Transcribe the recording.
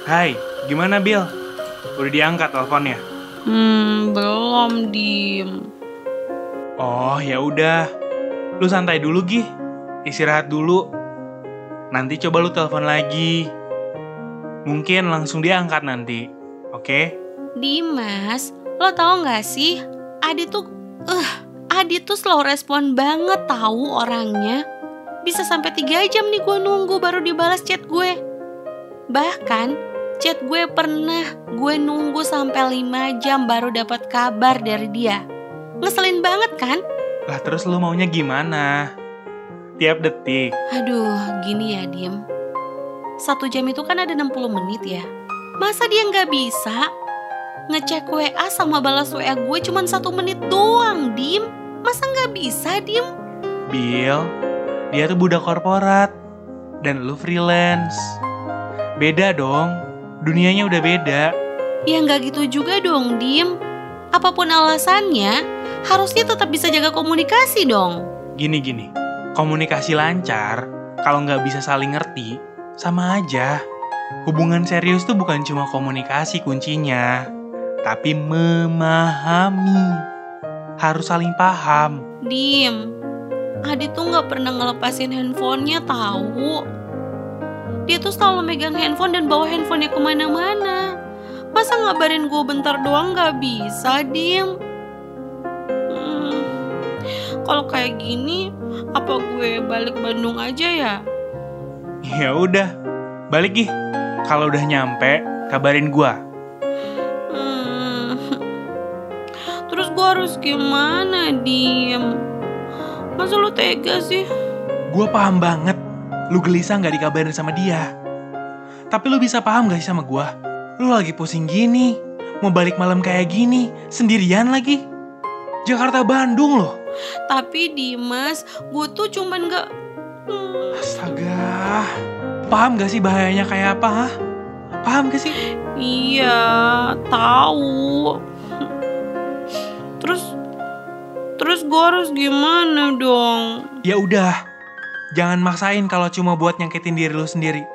Hai, gimana Bill? Udah diangkat teleponnya? Belum, Dim. Oh, ya udah. Lu santai dulu, Gih. Istirahat dulu. Nanti coba lu telepon lagi. Mungkin langsung diangkat nanti. Oke? Dimas, lo tau gak sih? Adi tuh slow respon banget tahu orangnya. Bisa sampai 3 jam nih gue nunggu baru dibalas chat gue. Bahkan chat gue pernah gue nunggu sampai 5 jam baru dapat kabar dari dia. Ngeselin banget kan? Lah terus lu maunya gimana? Tiap detik. Aduh, gini ya Dim. 1 jam itu kan ada 60 menit ya. Masa dia gak bisa ngecek WA sama balas WA gue cuma 1 menit doang, Dim? Masa gak bisa, Dim? Bill, dia tuh budak korporat. Dan lu freelance. Beda dong. Dunianya udah beda. Ya gak gitu juga dong, Dim. Apapun alasannya, harusnya tetap bisa jaga komunikasi dong. Gini. Komunikasi lancar, kalau nggak bisa saling ngerti, sama aja. Hubungan serius tuh bukan cuma komunikasi kuncinya, tapi memahami. Harus saling paham. Dim, Adi tuh gak pernah ngelepasin handphonenya tahu. Dia tuh selalu megang handphone dan bawa handphonenya kemana-mana. Masa ngabarin gue bentar doang gak bisa, Dim? Kalau kayak gini, apa gue balik Bandung aja ya? Ya udah, balik Gih. Kalau udah nyampe, kabarin gua. Terus gue harus gimana, Dim? Masa lu tega sih? Gua paham banget, lu gelisah gak dikabarin sama dia. Tapi lu bisa paham gak sih sama gua? Lu lagi pusing gini, mau balik malam kayak gini, sendirian lagi. Jakarta Bandung loh. Tapi Dimas, gue tuh cuman gak... Astaga, paham gak sih bahayanya kayak apa, ha? Paham gak sih? Iya, tahu. Terus gue harus gimana dong? Ya udah, jangan maksain kalau cuma buat nyakitin diri lu sendiri.